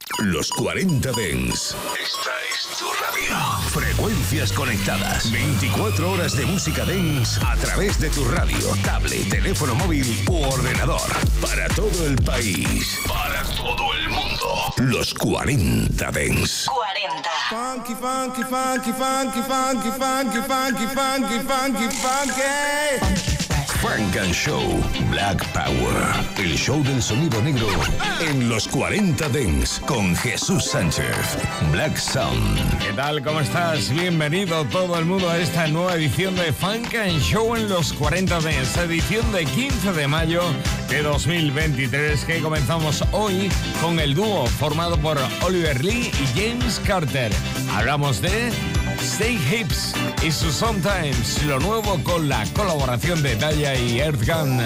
Los 40 Dance. Esta es tu radio. Frecuencias conectadas. 24 horas de música dance a través de tu radio, tablet, teléfono móvil u ordenador. Para todo el país. Para todo el mundo. Los 40 Dance. 40. Funky, funky, funky, funky, funky, funky, funky, funky, funky, funky. Funk and Show Black Power. El show del sonido negro en los 40 Dance con Jesús Sánchez. Black Sound. ¿Qué tal? ¿Cómo estás? Bienvenido todo el mundo a esta nueva edición de Funk and Show en los 40 Dance. Edición de 15 de mayo de 2023 que comenzamos hoy con el dúo formado por Oliver Lee y James Carter. Hablamos de Say Hips y su Sometimes, lo nuevo con la colaboración de Daya y Earthgang.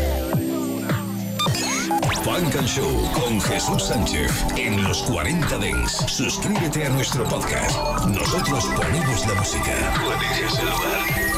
Funk and Show con Jesús Sánchez en los 40 Dance. Suscríbete a nuestro podcast. Nosotros ponemos la música. Tú eliges el lugar.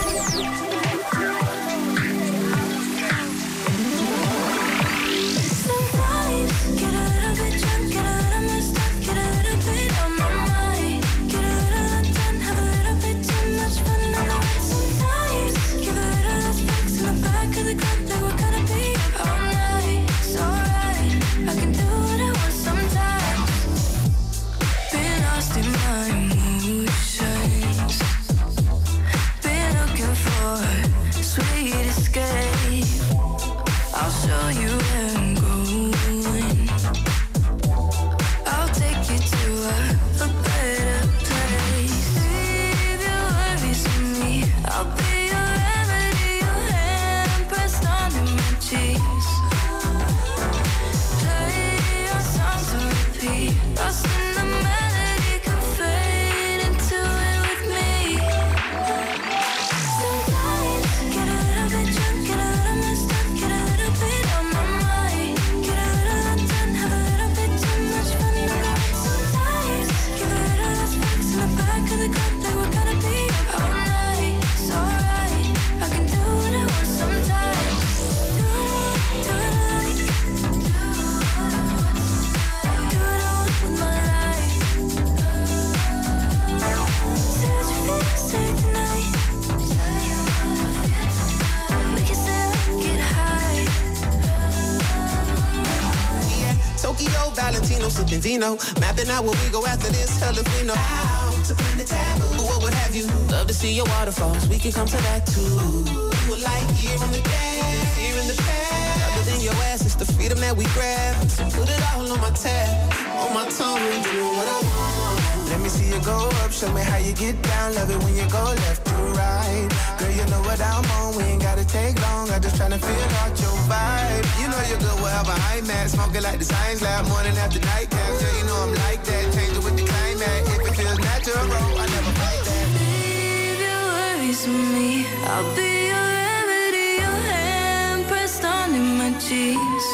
Vino, mapping out where we go after this, hell if we know how to bring the taboo. What would have you? Love to see your waterfalls, we can come to that too. Would like here in the gas, here in the past. Other than your ass, it's the freedom that we grab. So put it all on my tab, on my tongue, and do what I want. Let me see you go up, show me how you get down. Love it when you go left to right. Girl, you know what I'm on, we ain't gotta take long. I'm just tryna feel out your vibe. You know you're good wherever I'm at. Smoking like the science lab, morning after night cap. Yeah, you know I'm like that. Change it with the climate. If it feels natural, I never fight that. Leave your worries with me. I'll be your remedy. Your hand pressed on in my cheeks.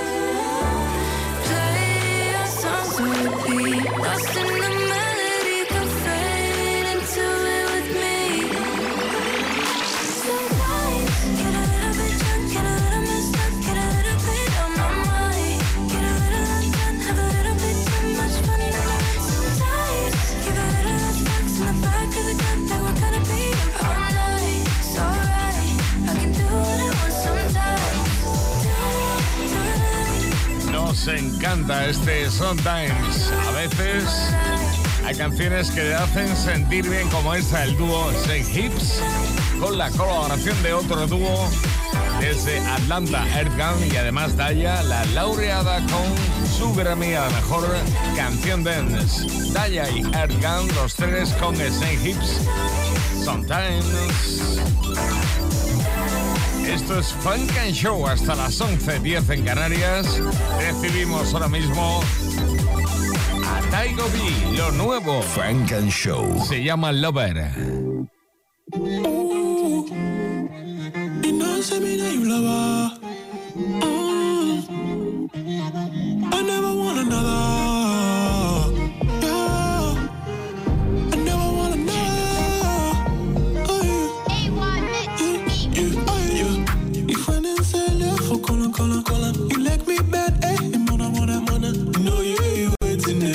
Play our songs to repeat. Lost in the melody, come fade into it with me. Sometimes get a little bit drunk, get a little messed up, get a little bit on my mind. Get a little undone, have a little bit too much fun in the night. Sometimes give a little less fucks in the back of the gun that we're gonna be up all night. It's alright, I can do what I want sometimes. Nos encanta este Sometimes. A veces hay canciones que te hacen sentir bien, como esta, el dúo Say Hips, con la colaboración de otro dúo desde Atlanta, Earthgang, y además Daya, la laureada con su Grammy a la mejor canción dance. Daya y Earthgang, los tres con Say Hips, Sometimes. Esto es Funk and Show hasta las 11:10 en Canarias. Recibimos ahora mismo a Taigo B, lo nuevo. Funk and Show. Se llama Lover. Y no se mira y lover. I never want another. Yeah. I never want another. Oh, yeah. Y fue en el teléfono, cola. You like me bad, eh? Y mona. No, you ain't waiting.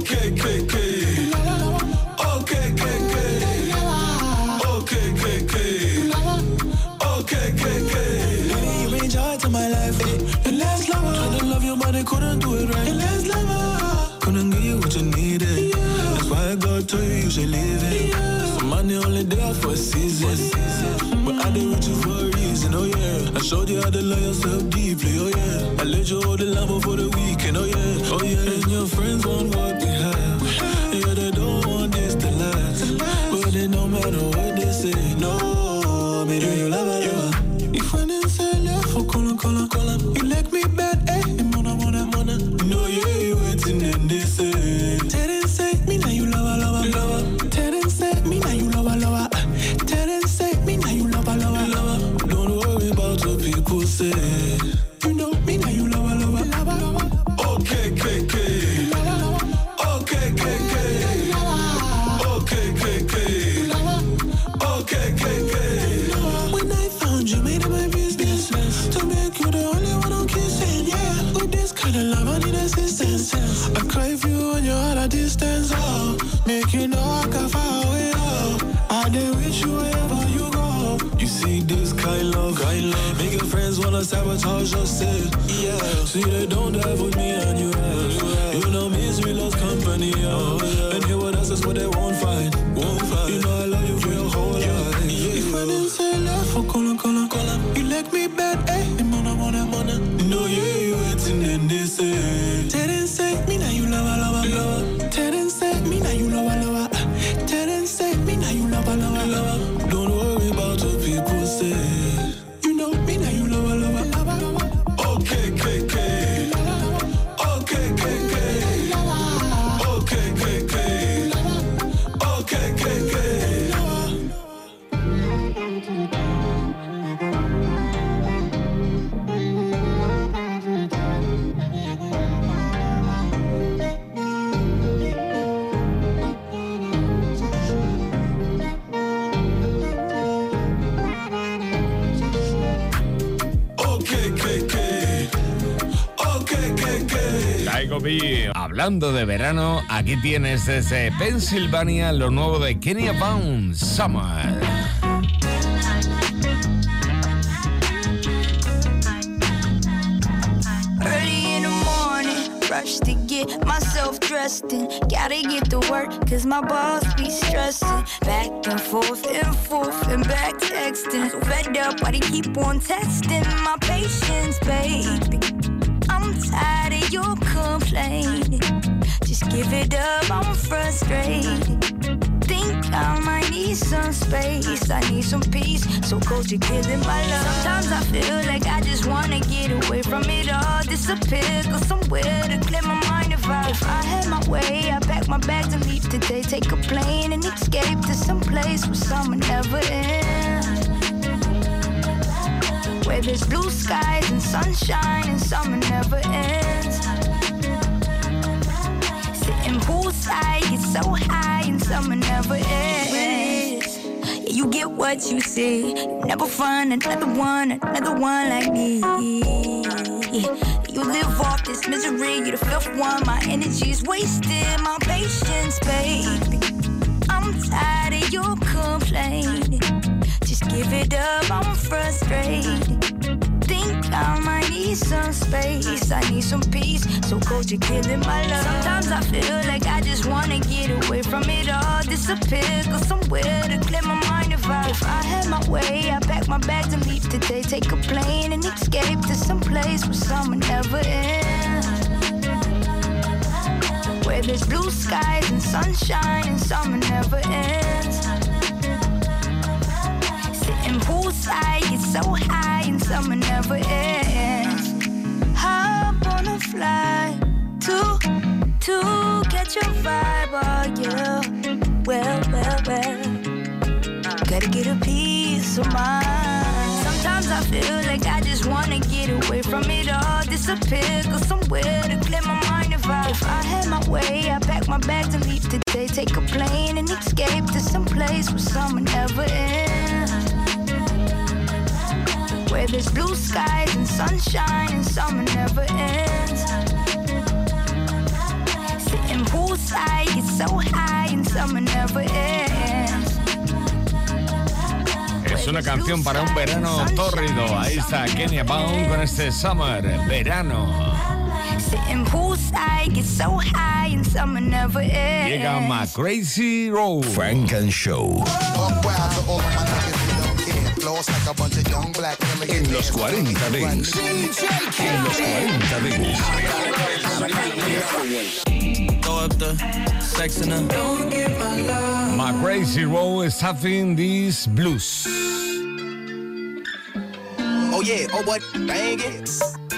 Okay, okay, okay. Okay, okay, okay. Okay, okay, okay. Okay, okay, okay. Baby, you bring joy to my life. The last lover tried to love you, but they couldn't do it right. The last lover couldn't give you what you needed. That's why God told you should leave it. Some money only there for a season. But I did with you for a reason, oh yeah. I showed you how to love yourself deeply, oh yeah. I let you hold the lamp for the weekend, oh yeah. Oh yeah, and your friends want what we have. Yeah, they don't want this to last. But it don't matter what they say, no. Me do you love it, yeah. If I didn't say left for color. You like me bad, eh? Mona. No, yeah, waiting and they say. Didn't say me now you love. Didn't say me now you love. Didn't say me now you love. Don't worry about what people say. You know me now you love. Okay, okay, okay. Okay, okay, okay. Okay, okay, okay. Okay, okay, okay. When I found you, made it my business to make you the only one I'm kissing. Yeah, with this kind of love, I need assistance. I cry for you when you're at a distance. Oh, make you know I can far away. Oh, I did with you wherever you go. You see this kind love. Make your friends wanna sabotage yourself. Yeah, see they don't dive with me and you have. You know misery loves company. Oh, yeah. And here with us is what they won't find. You know I love you for your whole life. If I didn't say left for color. You like me bad, eh? Mona. No, yeah, you waiting and they say. Didn't say me now you love. Didn't say me now you love. Didn't say me now you love. Don't worry about what people say. You know me now you love. Okay, okay, okay. Okay, okay, okay. Okay, okay, okay. Okay, okay, okay. Tycho B. Hablando de verano, aquí tienes desde Pensilvania lo nuevo de Kenya Pound, Summer. Early in the morning, rush to get myself dressed and gotta get to work cause my boss be stressing. Back and forth and back texting. So fed up, why they keep on testing my patience, baby. I'm tired of your complaining. Just give it up, I'm frustrated. Think I might need some space. I need some peace, so cold you're killing my love. Sometimes I feel like I just wanna get away from it all. Disappear, go somewhere to clear my mind. If I had my way, I'd pack my bags and leave today. Take a plane and escape to some place where summer never ends, where there's blue skies and sunshine and summer never ends. Sitting poolside, get so high and summer never ends. Yeah, you get what you see. You never find another one like me. You live off this misery, you're the fifth one. My energy's wasted, my patience, baby. I'm tired of your complaining. Just give it up, I'm frustrated. Think I might need some space. I need some peace, so cold you're killing my love. Sometimes I feel like I just wanna get away from it all. Disappear, go somewhere to clear my mind. If I had my way, I'd pack my bags and leave today. Take a plane and escape to some place where summer never ends, where there's blue skies and sunshine and summer never ends. Sitting poolside, get so high and summer never ends. Hop on a flight to catch your vibe, oh yeah. Well, gotta get a piece of mind. Sometimes I feel like I just wanna get away from it all. Disappear, go somewhere to clear my mind. If I had my way, I'd pack my bags and leave today. Take a plane and escape to some place where summer never ends, where there's blue skies and sunshine and summer never ends. Sitting poolside poolside, get so high and summer never ends. Es una canción para un verano tórrido. Ahí está Kenya Pound con este Summer, verano. Sitting poolside, get so high and summer never ends. Llega My Crazy Road. Frank and Show. En los 40 Dents. En los 40 Dents. My Crazy Road is having these blues. Oh yeah, oh what? Dang it.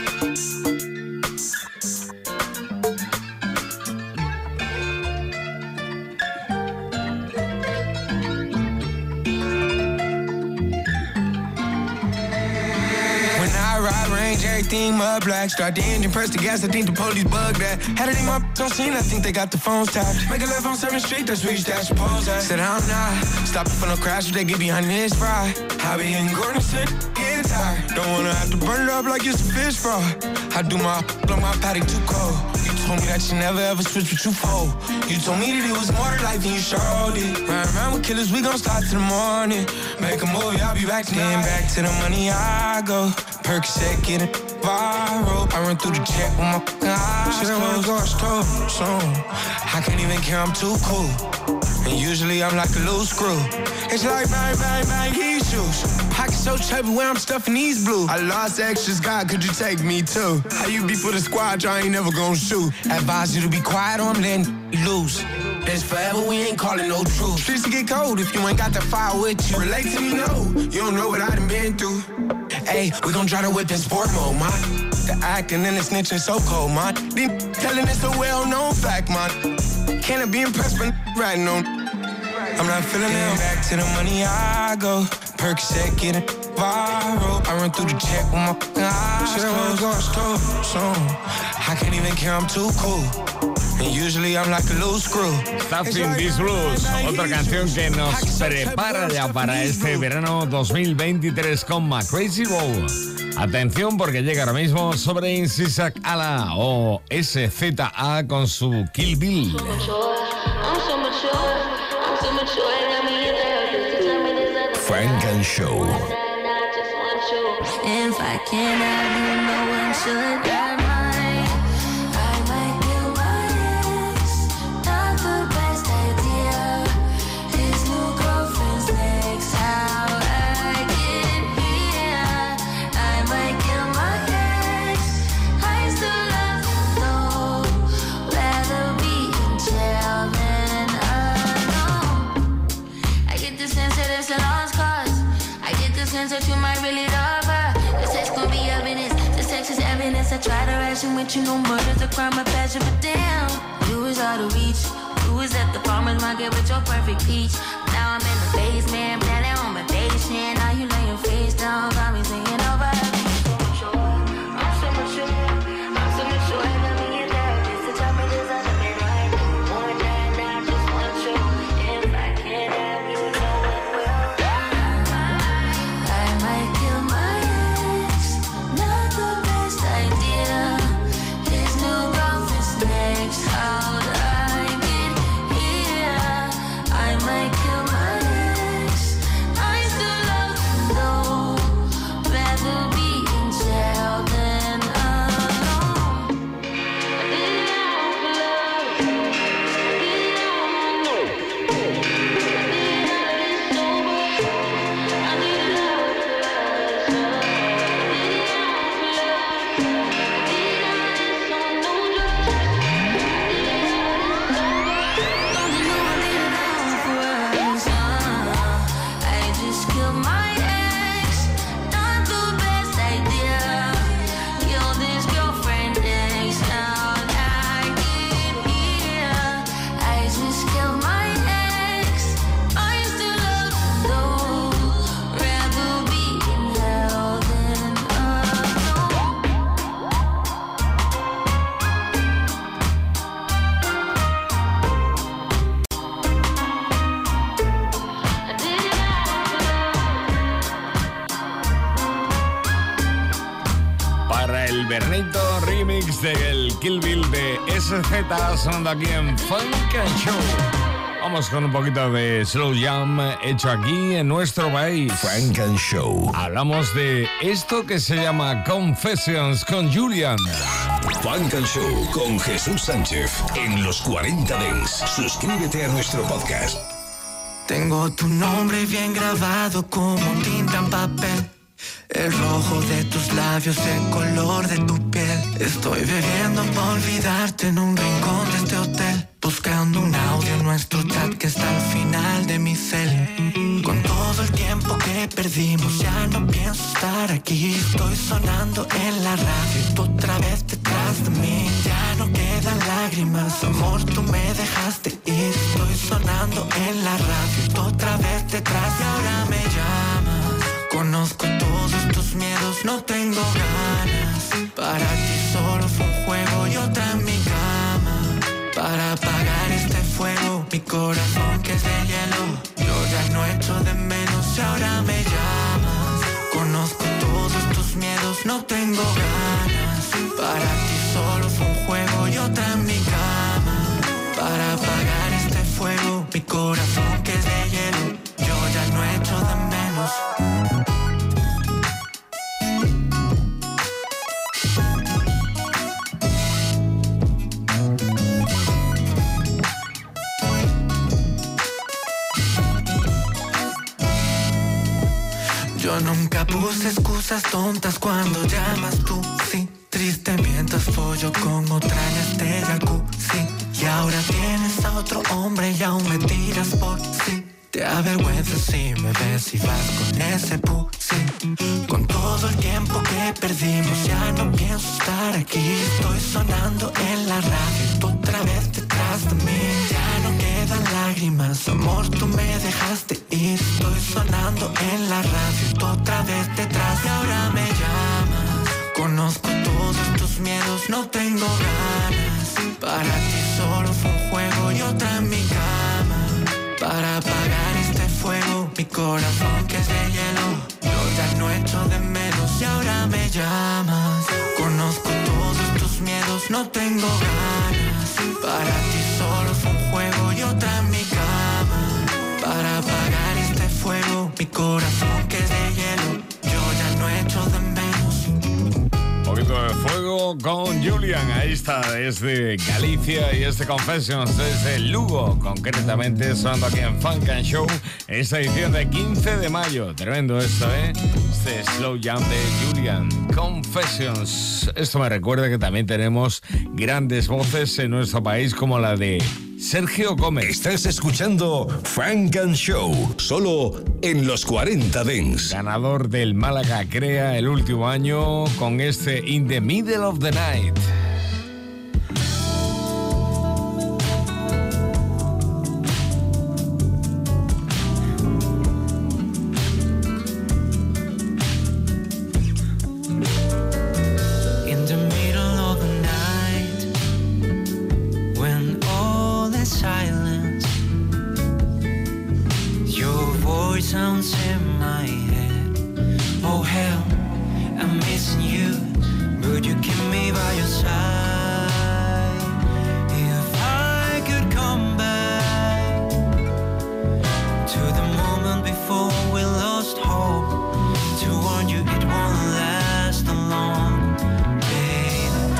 Everything mud black, start the engine, press the gas, I think the police bug that. Had it in my on scene, I think they got the phones tapped. Make a left on 7th Street, that's where you stash your pose at. Said I'm not, stopping for no crash, if they get behind this fry. I be in Gordon City, getting tired. Don't wanna have to burn it up like it's a fish fry. I do my on my paddock too cold. You told me that you never ever switch with you fold. You told me that it was more to life than you sure did. Ride around with killers, we gon' start till the morning. Make a movie, I'll be back then. Back to the money I go. Percocet, get it viral. I run through the check with my eyes closed. She don't wanna go store soon. I can't even care, I'm too cool. And usually I'm like a loose screw. It's like bang, bang, bang, these shoes. Pocket so chubby where I'm stuffing these blues. I lost extras, God, could you take me too? How you be for the squad, I ain't never gonna shoot. Advise you to be quiet or I'm letting you loose. It's forever, we ain't calling no truth. Streets to get cold if you ain't got the fire with you. Relate to me, no, you don't know what I done been through. Hey, we gon' try to whip in sport mode, man. The acting and the snitching so cold, man. They telling it's a well-known fact, man. Can't I be impressed but riding on. I'm not feeling it. Back to the money I go. Percocet, get it viral. I run through the check with my eyes closed. She don't wanna go store soon. I can't even care, I'm too cool. And usually I'm like a loose screw. Stuffing These Blues, otra canción que nos prepara ya para este verano 2023 con My Crazy Road. Atención porque llega ahora mismo sobre Sisak Ala o SZA con su Kill Bill. Frank and Show. If I can't have you, no one should. That you might really love her. The sex gon' be evidence. The sex is evidence. I try to ration with you, no murder's a crime of passion, but damn, you was out of reach. You was at the farmer's market with your perfect peach. Now I'm in the basement, planning on my patient. Now you lay your face down, got me singing over. I'm so mature, I'm so mature, I'm so mature. And let me get there, just to tell me there's other men right now. More than I just want you. If I can't have you, no one will. Invernito, remix del Kill Bill de SZ, sonando aquí en Funk and Show. Vamos con un poquito de slow jam hecho aquí en nuestro país. Funk and Show. Hablamos de esto que se llama Confessions con Julian. Funk and Show con Jesús Sánchez en los 40 Dance. Suscríbete a nuestro podcast. Tengo tu nombre bien grabado como tinta en papel. El rojo de tus labios, el color de tu piel. Estoy bebiendo para olvidarte en un rincón de este hotel, buscando un audio en nuestro chat que está al final de mi cel. Con todo el tiempo que perdimos ya no pienso estar aquí. Estoy sonando en la radio y tú otra vez detrás de mí. Ya no quedan lágrimas, amor, tú me dejaste ir. Estoy sonando en la radio y tú otra vez detrás y ahora me llamas. Conozco todos tus miedos, no tengo ganas. Para ti solo fue un juego y otra en mi cama. Para apagar este fuego, mi corazón que es de hielo. Yo ya no echo de menos y ahora me llamas. Conozco todos tus miedos, no tengo ganas. Para ti solo fue un juego y otra en mi cama. Para apagar este fuego, mi corazón que es de hielo. Yo ya no echo de menos. Yo nunca puse excusas tontas cuando llamas tú, sí. Triste mientras follo con otra en este jacuzzi. Y ahora tienes a otro hombre y aún me tiras por sí. Te avergüenzas si me ves y vas con ese pussy. Con todo el tiempo que perdimos ya no pienso estar aquí. Estoy sonando en la radio y tú otra vez detrás de mí. Ya no quedan lágrimas, amor, tú me dejaste ir. Estoy sonando en la radio y tú otra vez detrás y ahora me llamas. Conozco todos tus miedos, no tengo ganas. Para ti solo fue un juego y otra en mi cama. Para apagar este fuego, mi corazón que es de hielo. Yo ya no echo de menos y ahora me llamas. Conozco todos tus miedos, no tengo ganas. Para ti solo fue un juego y otra en mi cama. Para apagar este fuego, mi corazón que es de hielo. Yo ya no echo de menos. Un poquito de fuego con Julian. Ahí está, desde Galicia y este Confessions desde Lugo, concretamente sonando aquí en Funk and Show, esta edición de 15 de mayo. Tremendo esto, ¿eh? Este slow jam de Julian, Confessions. Esto me recuerda que también tenemos grandes voces en nuestro país como la de Sergio Gómez. Estás escuchando Funk and Show, solo en los 40 Dance. Ganador del Málaga Crea el último año con este In the Middle of the Night. Sounds in my head. Oh hell, I'm missing you. Would you keep me by your side? If I could come back to the moment before we lost hope, to warn you it won't last long, babe.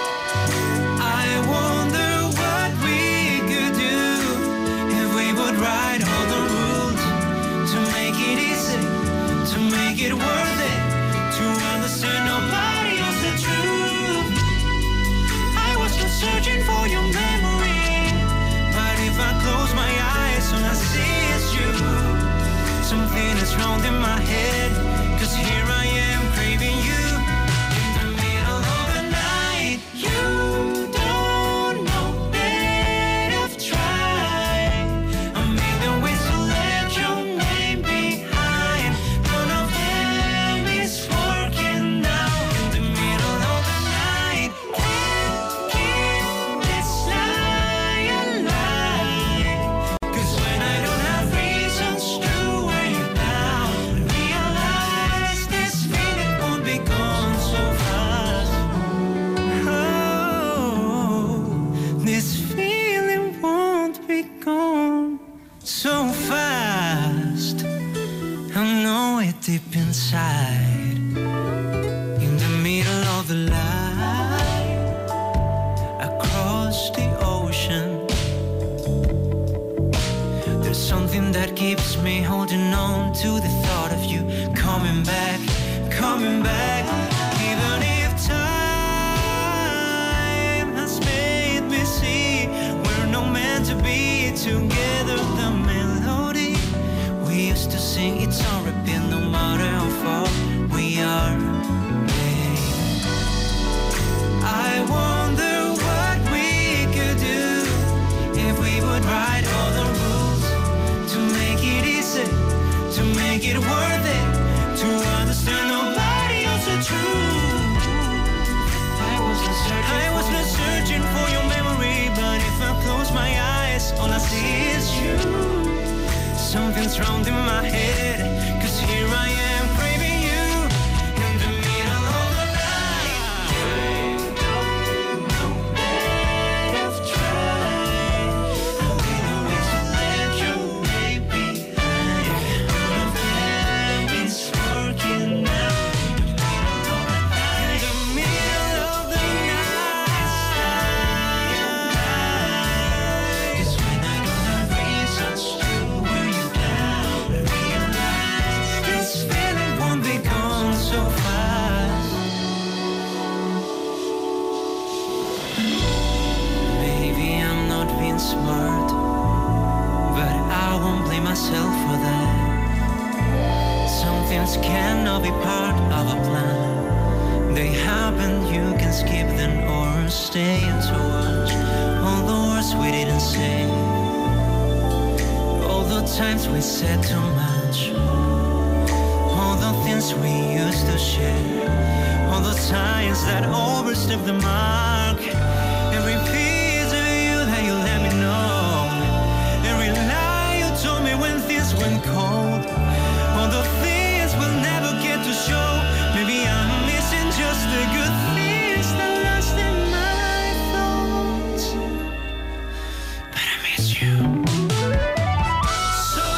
I wonder what we could do if we would ride all the rules. Make it easy, to make it worth it, to understand nobody else the truth. I was just searching for your memory, but if I close my eyes, all I see is you. Something is wrong in my head, 'cause here I am craving you. In the middle of the night, you don't know that I've tried a million ways to let your name behind. None of them is working now. In the middle of the night, can't keep this lie alive. 'Cause when I don't have reasons to wear you down, I realize so fast. I know it deep inside. In the middle of the light, across the ocean, there's something that keeps me holding on to the thought of you coming back, coming back. Even if time has made me see we're not meant to be together, the melody we used to sing, it's on repeat no matter how far we are. I wonder what we could do if we would write all the rules to make it easy, to make it worth it, to understand nobody else the truth. I was not searching for your memory, but if I close my eyes, all I see is you. Something's wrong in my head, 'cause here I am craving you in the middle of the night. I've tried, I will always let you baby behind. None of them is working now. In the middle of the night, 'cause when I don't have reasons to wear you down, I realize this feeling won't be gone so fast. Maybe I'm not being smart, but I won't blame myself for that. Some things cannot be part of a plan. They happen, you can skip them or stay and to watch all the words we didn't say, all the times we said too much, all the things we used to share, all the times that overstepped the mark, every piece of you that you let me know, every lie you told me when things went cold, all the things we'll never get to show. Maybe I'm missing just the good things that lost in my thoughts, but I miss you. So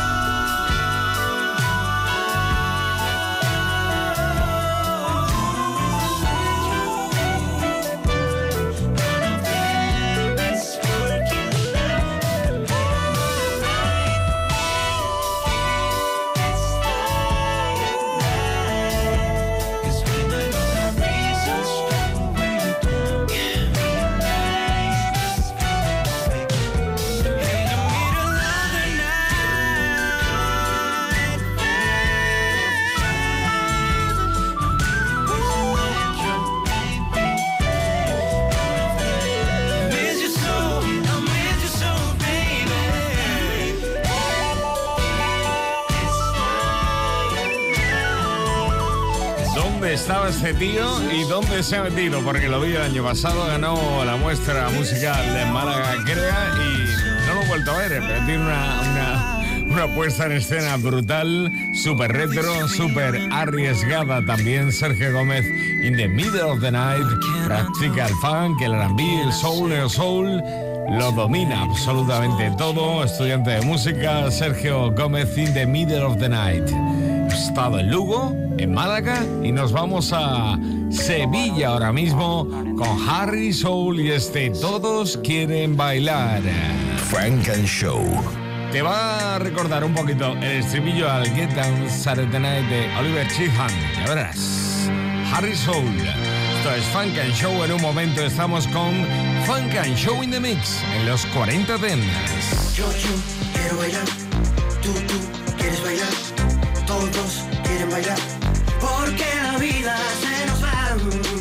¿Dónde estaba este tío y dónde se ha metido? Porque lo vi el año pasado, ganó la muestra musical de Málaga Crea y no lo he vuelto a ver, pero tiene una puesta en escena brutal, súper retro, súper arriesgada también. Sergio Gómez, In the Middle of the Night, practica el funk, el R&B, el soul, lo domina absolutamente todo. Estudiante de música, Sergio Gómez, In the Middle of the Night. He estado en Lugo, en Málaga, y nos vamos a Sevilla ahora mismo con Harry Soul y Todos Quieren Bailar. Funk and Show. Te va a recordar un poquito el estribillo al Get Down Saturday Night de Oliver Cheetham. Ya verás. Harry Soul. Esto es Funk and Show. En un momento estamos con Funk and Show in the Mix en los 40 Dents. Yo quiero bailar, tú quieres bailar, todos quieren bailar, porque la vida se nos va.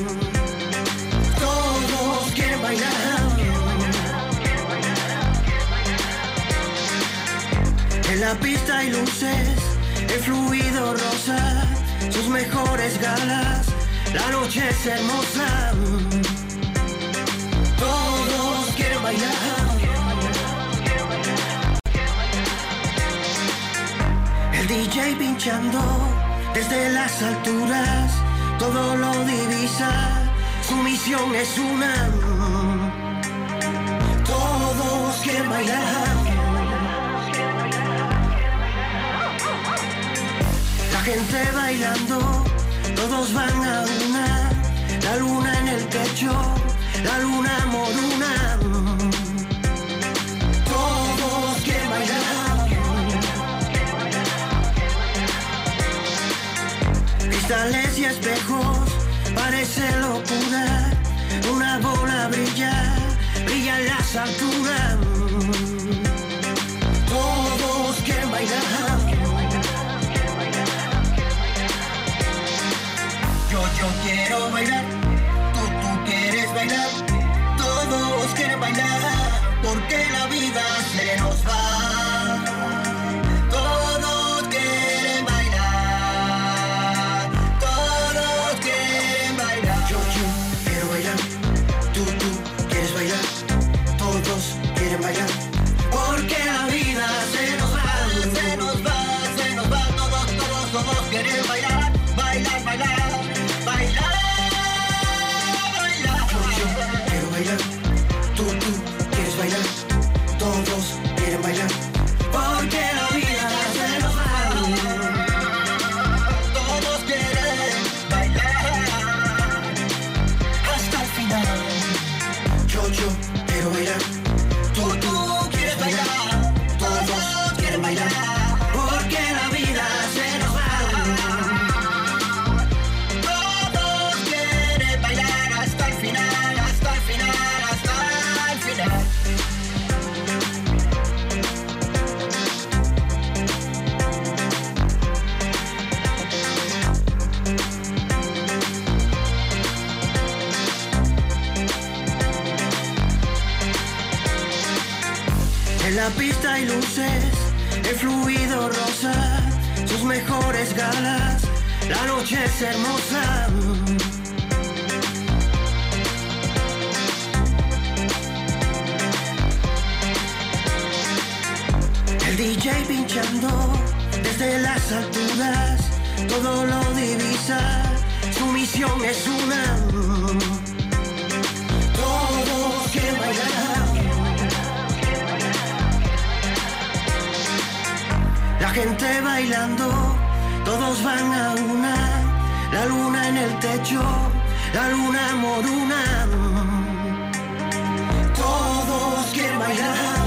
Todos quieren bailar. En la pista hay luces, el fluido rosa, sus mejores galas, la noche es hermosa. Todos quieren bailar. El DJ pinchando desde las alturas, todo lo divisa, su misión es una. Todos quieren bailar. bailando, todos van a una. La luna en el techo, la luna moruna. Todos quieren bailar. Cristales y espejos, parece locura. Una bola brilla, brilla en las alturas. Todos quieren bailar. Yo quiero bailar, tú quieres bailar. Todos quieren bailar, porque la vida se nos va. Todos quieren bailar, todos quieren bailar. Yo quiero bailar, tú quieres bailar. Todos quieren bailar, porque la vida se nos va, se nos va, se nos va. Todos quieren bailar, bailar, bailar. Bailar, bailar. Yo quiero bailar, tú quieres bailar. Todos quieren bailar, porque la vida se nos va. Todos quieren bailar hasta el final. Yo quiero bailar, tú quieres bailar. Todos quieren bailar, porque la vida se nos va. En la pista hay luces, el fluido rosa, sus mejores galas, la noche es hermosa. El DJ pinchando desde las alturas, todo lo divisa, su misión es una. Todos quieren bailar. La gente bailando, todos van a una. La luna en el techo, la luna moruna. Todos quieren bailar.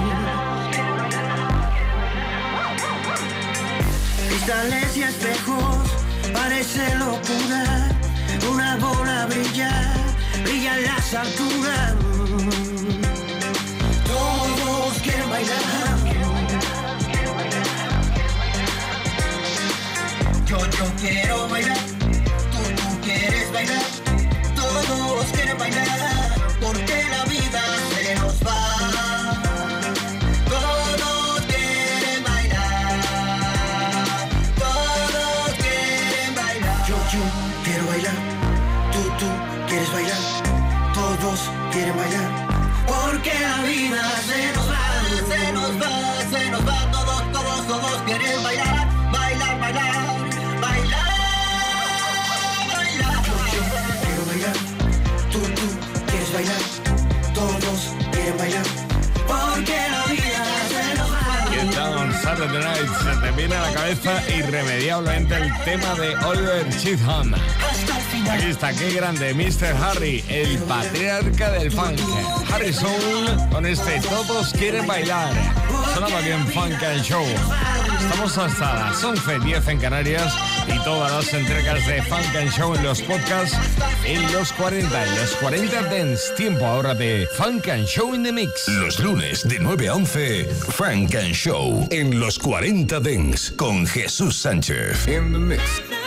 Cristales y espejos, parece locura. Una bola brilla, brilla en las alturas. Todos quieren bailar. Yo quiero bailar, tú quieres bailar. Todos quieren bailar, porque la vida se nos va. Todos quieren bailar, todos quieren bailar. Yo quiero bailar, tú quieres bailar. Todos quieren bailar, porque la vida se nos va, se nos va, se nos va. Todos quieren bailar, bailar, bailar. Bailar, todos quieren bailar, porque la vida se nos va. ¿Qué tal on Saturday Night? Se te viene a la cabeza irremediablemente el tema de Oliver Cheatham. Aquí está, qué grande, Mr. Harry, el patriarca del funk. Harrison con este Todos quieren bailar. Sonaba aquí en Funk and Show. Estamos hasta las 11:10 en Canarias y todas las entregas de Funk and Show en los podcasts en los 40, Dance. Tiempo ahora de Funk and Show in the Mix. Los lunes de 9 a 11, Funk and Show en los 40 Dance con Jesús Sánchez. In the Mix.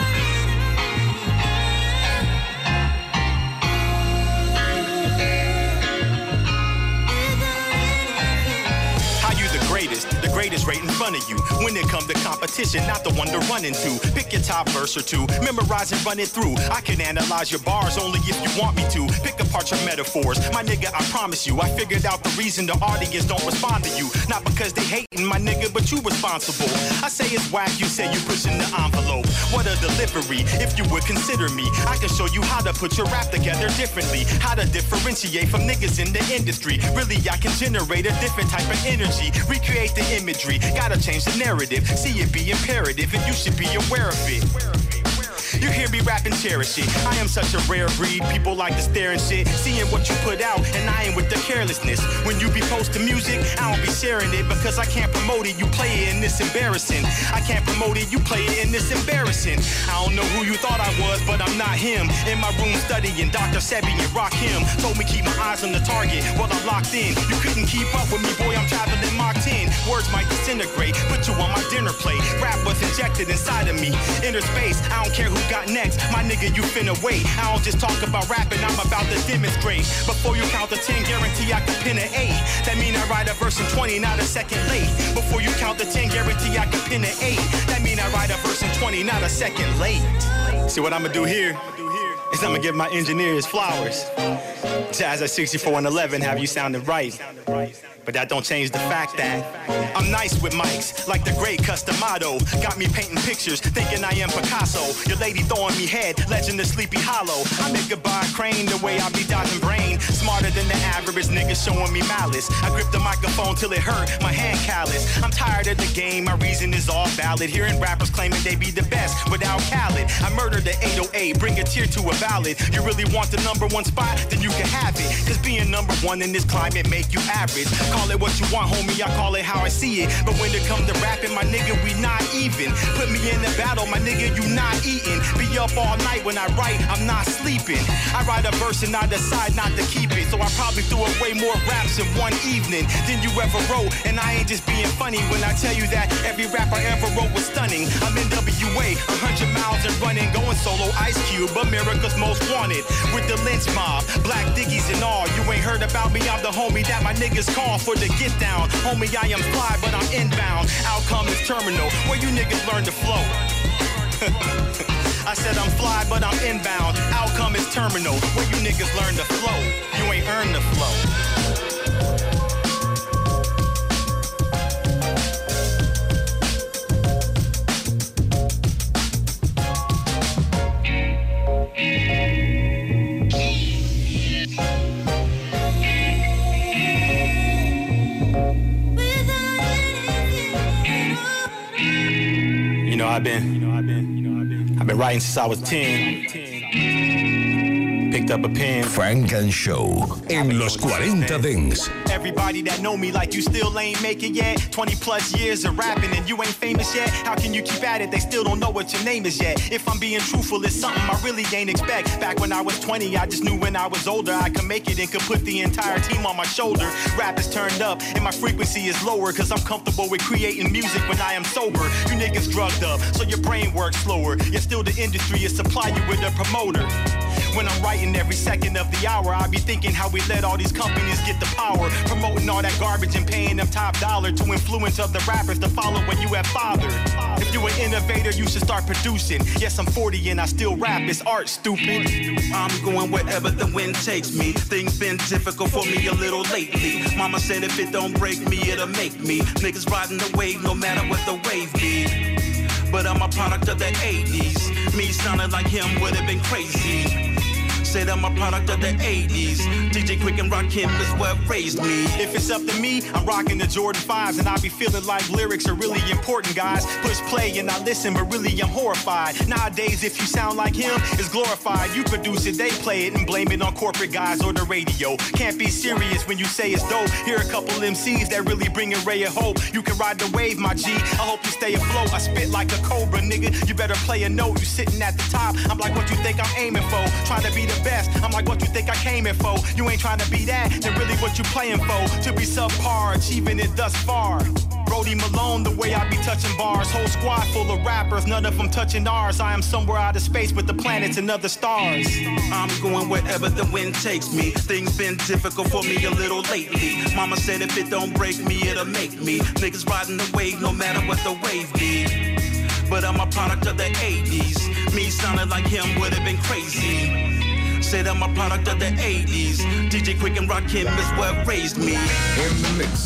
Greatest right in front of you. When it comes to competition, not the one to run into. Pick your top verse or two, memorize and run it through. I can analyze your bars only if you want me to. Pick apart your metaphors, my nigga, I promise you. I figured out the reason the audience don't respond to you. Not because they hating, my nigga, but you responsible. I say it's whack, you say you pushing the envelope. What a delivery, if you would consider me. I can show you how to put your rap together differently. How to differentiate from niggas in the industry. Really, I can generate a different type of energy. Recreate the imagery. Gotta change the narrative, see it be imperative, and you should be aware of it. You hear me rap and cherish it. I am such a rare breed. People like to stare and shit, seeing what you put out, and I ain't with the carelessness. When you be posting music, I don't be sharing it because I can't promote it. You play it and it's embarrassing. I can't promote it, you play it and it's embarrassing. I don't know who you thought I was, but I'm not him. In my room studying Dr. Sebi and Rakim. Told me keep my eyes on the target while I'm locked in. You couldn't keep up with me, boy, I'm traveling Mach 10. Words might disintegrate, put you on my dinner plate. Rap was injected inside of me. Inner space, I don't care who got next. My nigga, you finna wait. I don't just talk about rapping, I'm about to demonstrate. Before you count to 10, guarantee I can pin an 8. That mean I write a verse in 20, not a second late. Before you count to 10, guarantee I can pin an 8. That mean I write a verse in 20, not a second late. See what I'ma do here is I'ma give my engineers flowers. Jazz at 64 and 11 have you sounding right. But that don't change the fact that I'm nice with mics, like the great Customato. Got me painting pictures, thinking I am Picasso. Your lady throwing me head, legend of Sleepy Hollow. I make a by crane the way I be dodging brain. Smarter than the average nigga showing me malice. I grip the microphone till it hurt, my hand callous. I'm tired of the game, my reason is all valid. Hearing rappers claiming they be the best without Khaled. I murdered the 808, bring a tear to a ballad. You really want the #1 spot, then you can have it. Cause being #1 in this climate make you average. Call it what you want, homie, I call it how I see it. But when it comes to rapping, my nigga, we not even. Put me in the battle, my nigga, you not eating. Be up all night when I write, I'm not sleeping. I write a verse and I decide not to keep it. So I probably threw away more raps in one evening than you ever wrote. And I ain't just being funny when I tell you that every rap I ever wrote was stunning. I'm in WA, 100 miles and running, going solo Ice Cube, America's Most Wanted. With the lynch mob, black diggies and all. You ain't heard about me, I'm the homie that my niggas call for the get down. Homie, I am fly, but I'm inbound. Outcome is terminal, where you niggas learn to flow. I said I'm fly, but I'm inbound. Outcome is terminal, where you niggas learn to flow. You ain't earned the flow. I've been writing since I was 10. Picked up a pen. Funk and Show en los 40 Dance. Everybody that know me like you still ain't make it yet. 20 plus years of rapping and you ain't famous yet. How can you keep at it? They still don't know what your name is yet. If I'm being truthful, it's something I really ain't expect. Back when I was 20, I just knew when I was older I could make it and could put the entire team on my shoulder. Rap is turned up and my frequency is lower, cause I'm comfortable with creating music when I am sober. You niggas drugged up, so your brain works slower. Yet still the industry is supply you with a promoter. When I'm writing every second of the hour, I be thinking how we let all these companies get the power, promoting all that garbage and paying them top dollar to influence other rappers to follow when you have fathered. If you an innovator, you should start producing. Yes, I'm 40 and I still rap, it's art, stupid. I'm going wherever the wind takes me. Things been difficult for me a little lately. Mama said if it don't break me, it'll make me. Niggas riding the wave no matter what the wave be. But I'm a product of the 80s. Me sounding like him would have been crazy. Said I'm a product of the 80s. DJ Quick and Rakim is what raised me. If it's up to me, I'm rocking the Jordan 5s and I be feeling like lyrics are really important, guys. Push play and I listen, but really I'm horrified. Nowadays, if you sound like him, it's glorified. You produce it, they play it and blame it on corporate guys or the radio. Can't be serious when you say it's dope. Here a couple MCs that really bring a ray of hope. You can ride the wave, my G. I hope you stay afloat. I spit like a cobra, nigga. You better play a note. You sitting at the top. I'm like, what you think I'm aiming for? Trying to be the best. I'm like, what you think I came in for? You ain't trying to be that, then really what you playing for? To be subpar, achieving it thus far. Brody Malone, the way I be touching bars. Whole squad full of rappers, none of them touching ours. I am somewhere out of space with the planets and other stars. I'm going wherever the wind takes me. Things been difficult for me a little lately. Mama said if it don't break me, it'll make me. Niggas riding the wave no matter what the wave be. But I'm a product of the 80s. Me sounding like him would have been crazy. Said I'm a product of the 80s. DJ Quick and Rakim is what raised me. In the mix.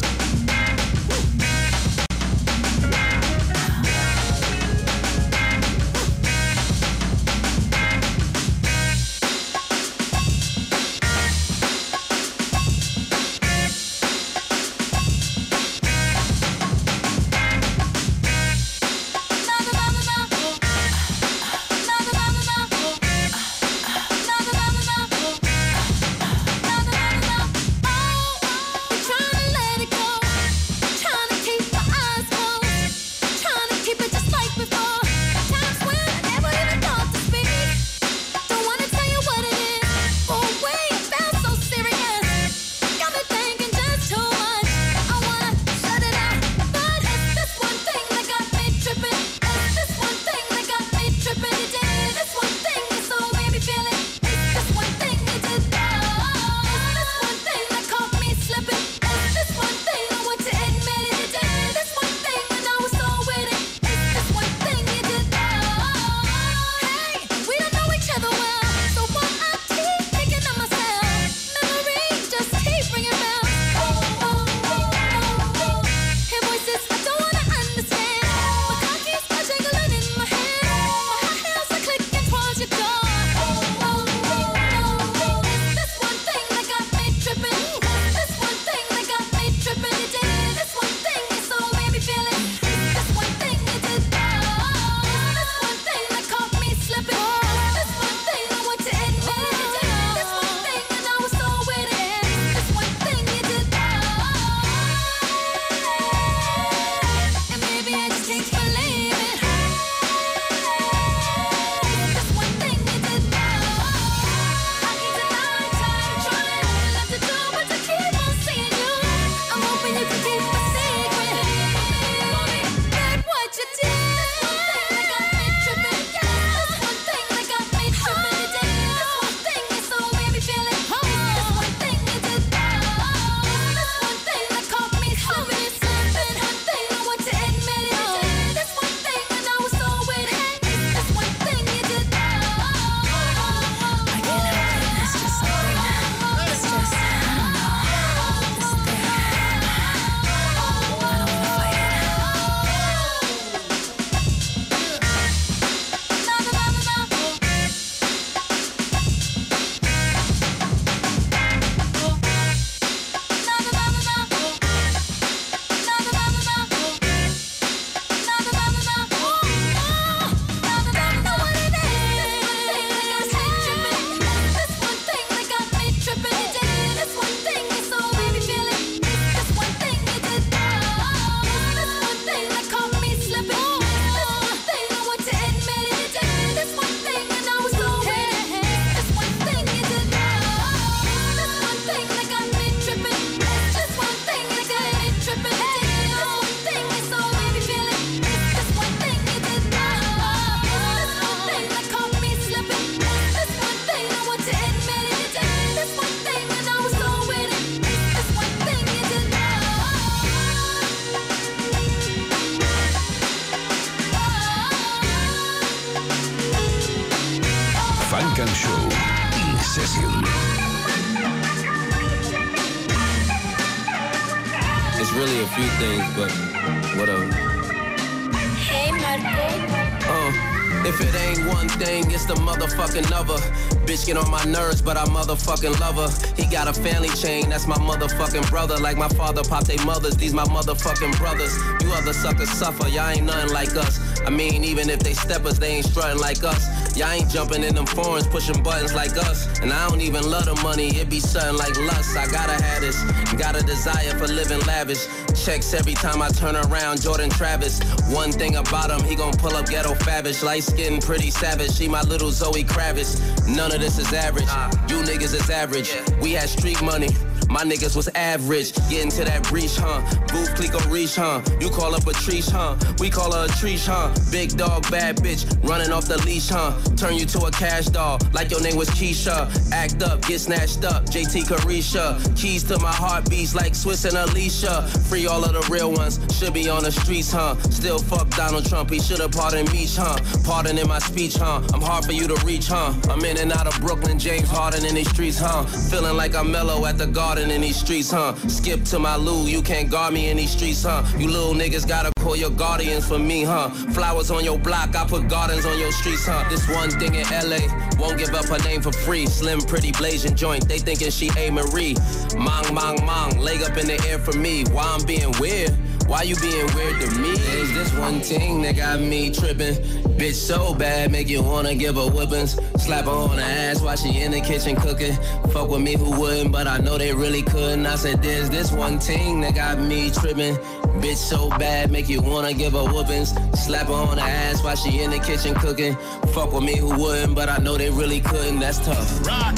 few things, but whatever. Hey, Marco. If it ain't one thing, it's the motherfucking other. Bitch get on my nerves, but I motherfucking love her. He got a family chain, that's my motherfucking brother. Like my father popped they mothers, these my motherfucking brothers. You other suckers suffer, y'all ain't nothing like us. I mean, even if they steppers, they ain't strutting like us. Y'all ain't jumping in them foreigns, pushing buttons like us. And I don't even love the money, it be something like lust. I gotta have this, got a desire for living lavish. Checks every time I turn around, Jordan Travis. One thing about him, he gon' pull up ghetto favish. Light skin, pretty savage, she my little Zoe Kravitz. None of this is average, you niggas is average. We had street money, my niggas was average. Getting to that breach, huh? Booth Clico reach, huh? You call up a treesh, huh? We call her a treesh, huh? Big dog, bad bitch, running off the leash, huh? Turn you to a cash doll, like your name was Keisha. Act up, get snatched up, JT Carisha. Keys to my heartbeats like Swiss and Alicia. Free all of the real ones, should be on the streets, huh? Still fuck Donald Trump, he should've pardoned me, huh? Pardon in my speech, huh? I'm hard for you to reach, huh? I'm in and out of Brooklyn, James Harden in these streets, huh? Feeling like I'm mellow at the garden in these streets, huh? Skip to my Lou, you can't guard me in these streets, huh? You little niggas gotta call your guardians for me, huh? Flowers on your block, I put gardens on your streets, huh? This one thing in LA, won't give up her name for free. Slim, pretty, blazing joint, they thinking she A. Marie. Mong, leg up in the air for me. Why I'm being weird? Why you being weird to me? Is this one thing that got me tripping? Bitch so bad, make you wanna give her whippings. Slap her on the ass while she in the kitchen cooking. Fuck with me who wouldn't, but I know they really couldn't. I said there's this one thing that got me tripping. Bitch so bad, make you wanna give her whoopings. Slap her on the ass while she in the kitchen cooking. Fuck with me who wouldn't, but I know they really couldn't. That's tough. Rock.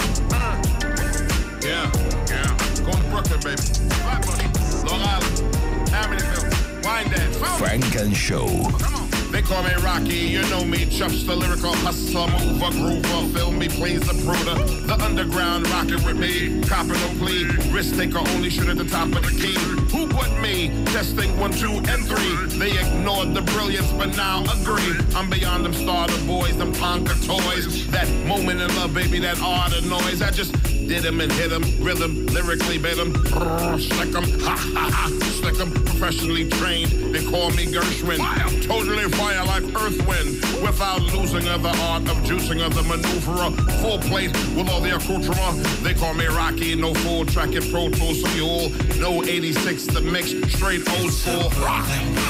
Yeah. Go to Brooklyn, baby. Flat money. Long Island. Amityville. Wine dance. Frank and Show. Come on. They call me Rocky, you know me, Chuff's the lyrical hustler, mover, groover, film me, plays the pruder, the underground rockin' with me, copping no plea, risk taker only shoot at the top of the key. Who but me? Testing 1, 2, and 3. They ignored the brilliance, but now agree. I'm beyond them starter boys, them Tonka toys. That moment in love, baby, that art of noise. I just did him and hit him, rhythm, lyrically bit him, slick him, ha ha ha, slick him, professionally trained. They call me Gershwin, totally fire like earth wind, without losing of the art of juicing of the maneuverer. Full plate with all the accoutrement. They call me Rocky, no full track in Pro Tools, so you all know 86 the mix, straight old school rock.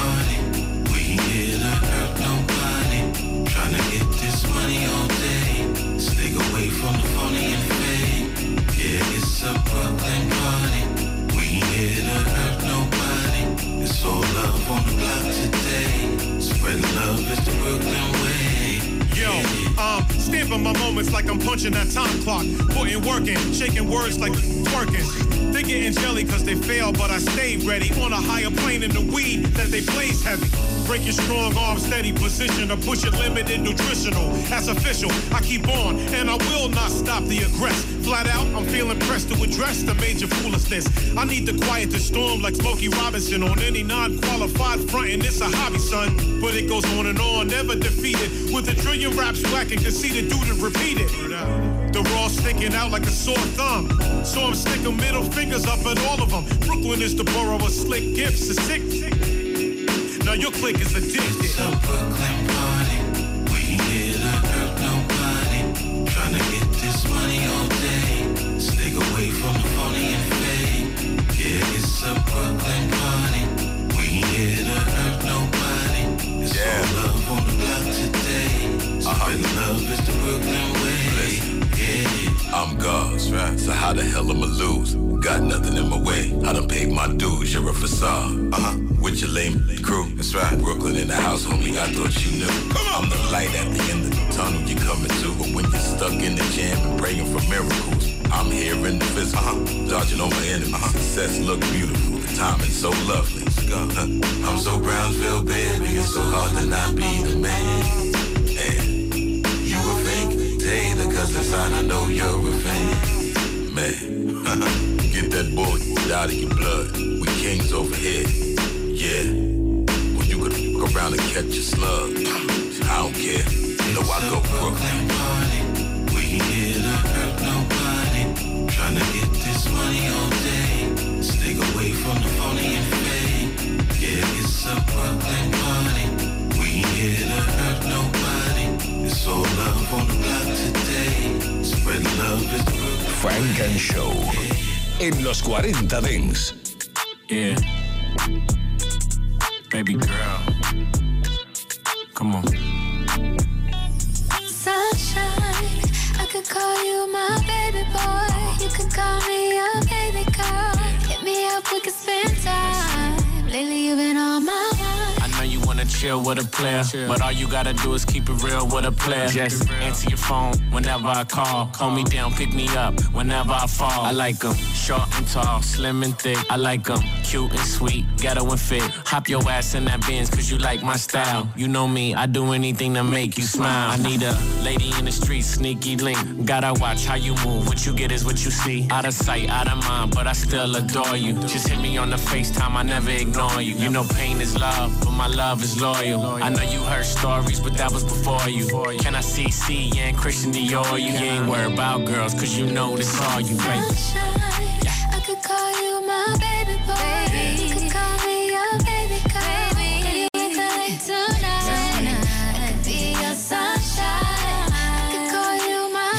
We ain't here to hurt nobody, tryna get this money all day, stay away from the phony and fake. Yeah, it's a Brooklyn party. We ain't here to hurt nobody. It's all love on the block today. Spread love is the Brooklyn way. Yo, stamping my moments like I'm punching that time clock. Putting work in, shaking words like twerking. They getting jelly cause they fail, but I stay ready. On a higher plane in the weed that they blaze heavy. Break your strong arm, steady position, or push it limited nutritional. That's official, I keep on, and I will not stop the aggress. Flat out, I'm feeling pressed to address the major foolishness. I need to quiet the storm like Smokey Robinson on any non-qualified front, and it's a hobby, son. But it goes on and on, never defeated. With a trillion raps whack and conceited, dude, and repeat it. The raw sticking out like a sore thumb. So I'm sticking middle fingers up at all of them. Brooklyn is the borough of slick gifts, a sick. Now your clique is addicted. It's a Brooklyn party. We ain't here to hurt nobody. Tryna get this money all day. Stay away from the phony and fake. Yeah, it's a Brooklyn party. We ain't here to hurt nobody. It's all love on the block today. Spread love is the Brooklyn way. I'm God's, right? So how the hell I'ma lose? Got nothing in my way. I done paid my dues, you're a facade. With your lame crew, that's right. Brooklyn in the house, homie, I thought you knew. I'm the light at the end of the tunnel you're coming to. But when you're stuck in the jam and praying for miracles, I'm here in the physical, dodging all my enemies. Success look beautiful, the timing's so lovely. I'm so Brownsville, baby, it's so hard to not be the man. And you a fake hater, cause inside I know you're a fan. Man, get that boy out of your blood. We kings over here. Yeah, well you could fuck around and catch a slug. I don't care, you know I go Brooklyn party. We ain't here to hurt nobody. Tryna get this money all day. Stay away from the phony and fake. a Brooklyn party. We ain't here to hurt nobody. It's all love on the block today. Spread love is Brooklyn. Funk and Show en los 40 Dance. Yeah. Baby girl. Come on. Sunshine, I could call you my baby boy. You could call me your baby girl. Hit me up, we could spend time. Lately you've been on my mind. I know you wanna chill with a player, but all you gotta do is keep it real with a player. Just answer your phone whenever I call. Hold me down, pick me up whenever I fall. I like 'em short and tall, slim and thick. I like 'em cute and sweet, ghetto and fit. Hop your ass in that Benz cause you like my style. You know me, I do anything to make you smile. I need a lady in the street, sneaky link. Gotta watch how you move, what you get is what you see. Out of sight, out of mind, but I still adore you. Just hit me on the FaceTime, I never ignore you. You know pain is love, but my love is loyal. I know you heard stories, but that was before you. Can I see yeah, and Christian Dior? You ain't worried about girls, cause you know this all you, baby. Sunshine, I could call you my baby boy. You could call me your baby girl. Baby, we could link tonight. I could be your sunshine. I could call you my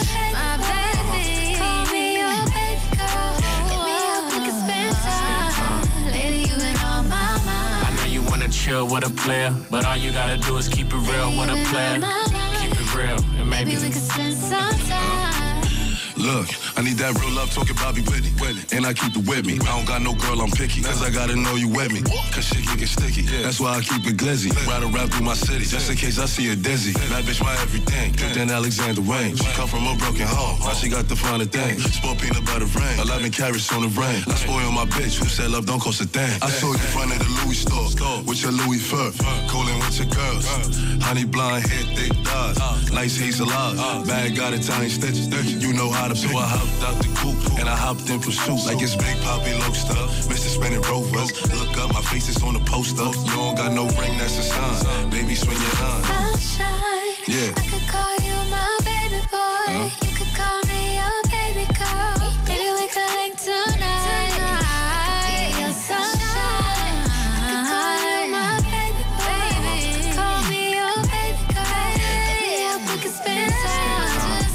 baby. Call me your baby girl. Hit me up, we could spend time. Lately you been on my mind. I know you wanna chill with a player, but all you gotta do is keep it real with a player. Keep it real, and maybe we could spend some time. Look, I need that real love talking Bobby Whitney. And I keep it with me. I don't got no girl, I'm picky. Cause I gotta know you with me. Cause shit can get sticky. That's why I keep it glizzy. Ride around through my city. Just in case I see a dizzy. That bitch my everything. Then Alexander Wayne. She come from a broken home. Now she got the finer thing. Sport peanut butter rain. 11 carats on the rain. I spoil my bitch. Who said love don't cost a thing? I saw you in front of the Louis store. With your Louis fur. Coolin' with your girls. Honey blonde hair, thick thighs. Nice hazel eyes. Bag got Italian stitches. You know how to pick. So I hopped out the coupe and I hopped in pursuit like it's Big Poppy Lobster, Mr. Spinning Rovers. Look up, my face is on the poster. You don't got no ring, that's a sign. Baby, swing your line. Sunshine, Yeah. I could call you my baby boy. You could call me your baby girl. Maybe we could link tonight. I could be your sunshine. I could call you my baby boy. Call me your baby girl. Hit me up, we could spend time.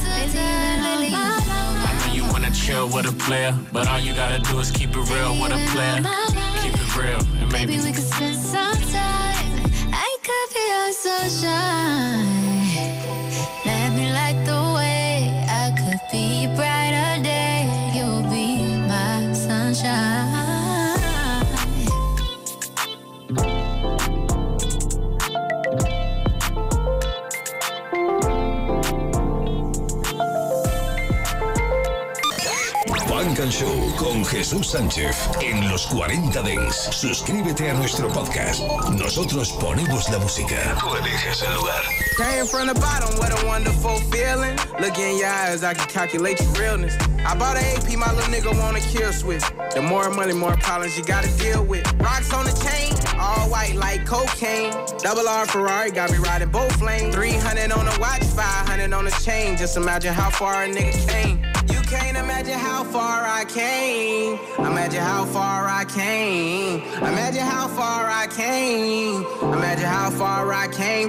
Lately you been on my mind. chill with a player, but all you gotta do is keep it real with a player. Keep it real, and maybe we could spend some time. I could be your sunshine. Let me light the way. I could be a brighter day. You'll be my sunshine. Funk and Show con Jesús Sánchez en los 40 Dance. Suscríbete a nuestro podcast. Nosotros ponemos la música. Tú eliges el lugar. Came from the bottom, what a wonderful feeling. Look in your eyes, I can calculate your realness. I bought an AP, my little nigga want a kill switch. The more money, more problems you gotta deal with. Rocks on the chain, all white like cocaine. Double R Ferrari got me riding both lanes. 300 on the watch, 500 on the chain. Just imagine how far a nigga came. You can't imagine how far I came. Imagine how far I came. Imagine how far I came. Imagine how far I came.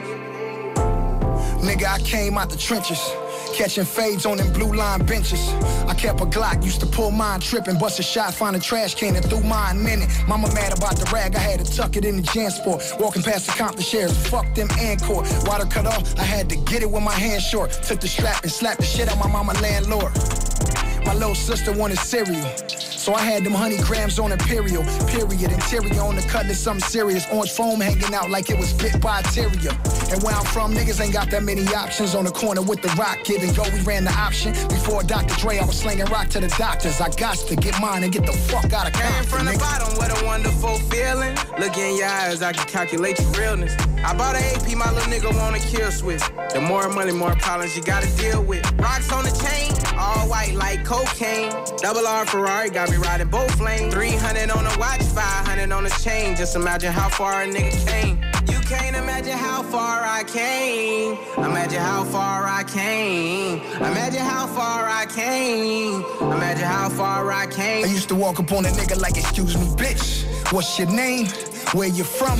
Nigga, I came out the trenches, catching fades on them blue line benches. I kept a Glock, used to pull mine tripping, bust a shot, find a trash can and threw mine in it. Mama mad about the rag, I had to tuck it in the JanSport. Walking past the Compton shares, fuck them Encore. Water cut off, I had to get it with my hands short. Took the strap and slapped the shit out my mama landlord. My little sister wanted cereal, so I had them honey grams on Imperial. Period, interior on the cutlass, something serious. Orange foam hanging out like it was bit by a terrier. And where I'm from, niggas ain't got that many options. On the corner with the rock, give and go, we ran the option. Before Dr. Dre, I was slinging rock to the doctors. I got to get mine and get the fuck out of Compton. Came from the bottom, what a wonderful feeling. Look in your eyes, I can calculate your realness. I bought an AP, my little nigga want a kill switch. The more money, more problems you gotta deal with. Rocks on the chain, all white like cocaine. Double R Ferrari got me riding both lanes. 300 on the watch, 500 on the chain. Just imagine how far a nigga came. You can't imagine how far I came. Imagine how far I came. Imagine how far I came. Imagine how far I came. I used to walk up on a nigga like, excuse me, bitch, what's your name? Where you from?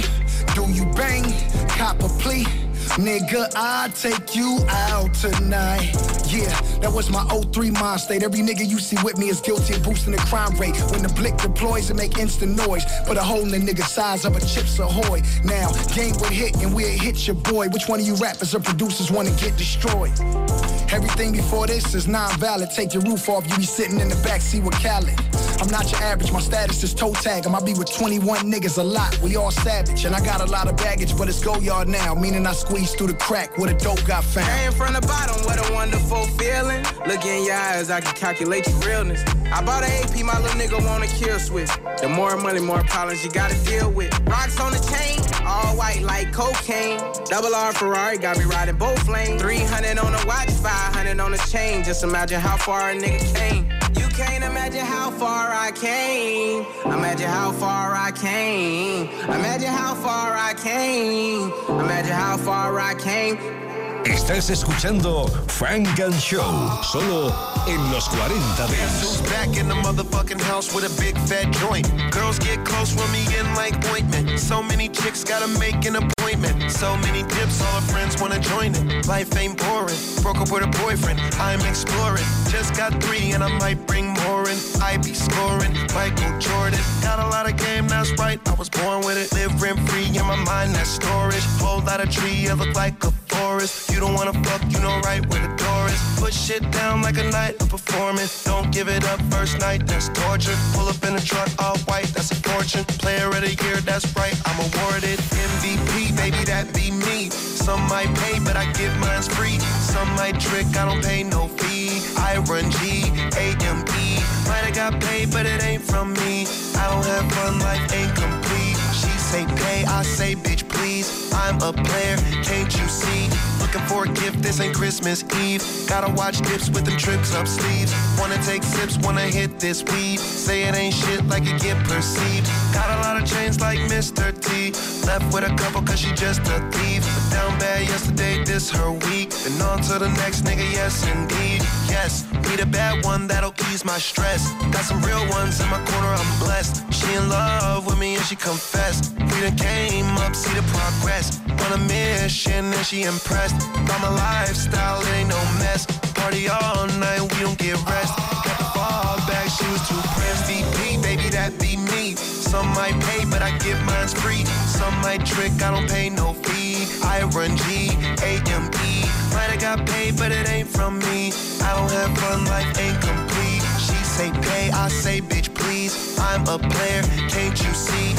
Do you bang? Cop a plea? Nigga, I'll take you out tonight. Yeah, that was my 03 mind state. Every nigga you see with me is guilty of boosting the crime rate. When the blick deploys, it make instant noise. Put a hole in the nigga size of a Chips Ahoy. Now, game would hit and we'll hit your boy. Which one of you rappers or producers wanna get destroyed? Everything before this is non-valid. Take your roof off, you be sitting in the backseat with Khaled. I'm not your average, my status is toe tag. I be with 21 niggas a lot, we all savage. And I got a lot of baggage, but it's go yard now. Meaning I squeeze through the crack where the dope got found. Came from the bottom, what a wonderful feeling. Look in your eyes, I can calculate your realness. I bought an AP, my little nigga want a kill switch. The more money, more problems you gotta deal with. Rocks on the chain, all white like cocaine. Double R Ferrari, got me riding both lanes. 300 on the watch, 500 on the chain. Just imagine how far a nigga came. You can't imagine how far I came. Imagine how far I came. Imagine how far I came. Imagine how far I came. Estás escuchando Funk and Show, solo en los 40 Dance. Back in the motherfucking house with a big fat joint. Girls get close with me in like ointment. So many chicks gotta make an appointment. So many dips, all her friends wanna join it. Life ain't boring. Broke up with a boyfriend, I'm exploring. Just got 3 and I might bring more in. I be scoring, Michael Jordan. Got a lot of game, that's right, I was born with it. Live rent free in my mind, that's storage. Whole lot of tree, it look like a forest. You don't wanna fuck, you know right where the door is. Put shit down like a night of performance. Don't give it up first night, that's torture. Pull up in a truck, all white, that's a fortune. Player of the year, that's right, I'm awarded. MVP, baby, that be me. Some might pay, but I give mine's free. Some might trick, I don't pay no fee. I run G-A-M-E. Might have got paid, but it ain't from me. I don't have fun, life ain't complete. She say pay, I say bitch please. I'm a player, can't you see? Looking for a gift, this ain't Christmas Eve. Gotta watch dips with them trips up sleeves. Wanna take sips, wanna hit this weed. Say it ain't shit like it get perceived. Got a lot of chains like Mr. T. Left with a couple cause she just a thief. But down bad yesterday, this her week. And on to the next nigga, yes indeed. Yes, need a bad one that'll ease my stress. Got some real ones in my corner, I'm blessed. She in love with me and she confessed. We done came up, see the progress. On a mission and she impressed. By my lifestyle, it ain't no mess. Party all night, we don't get rest. Got the fall back, she was too pressed. VP, baby, that be me. Some might pay, but I give mine's free. Some might trick, I don't pay no fee. I run G-A-M-E. Might have got paid, but it ain't from me. I don't have fun, life ain't complete. She say pay, I say bitch please. I'm a player, can't you see?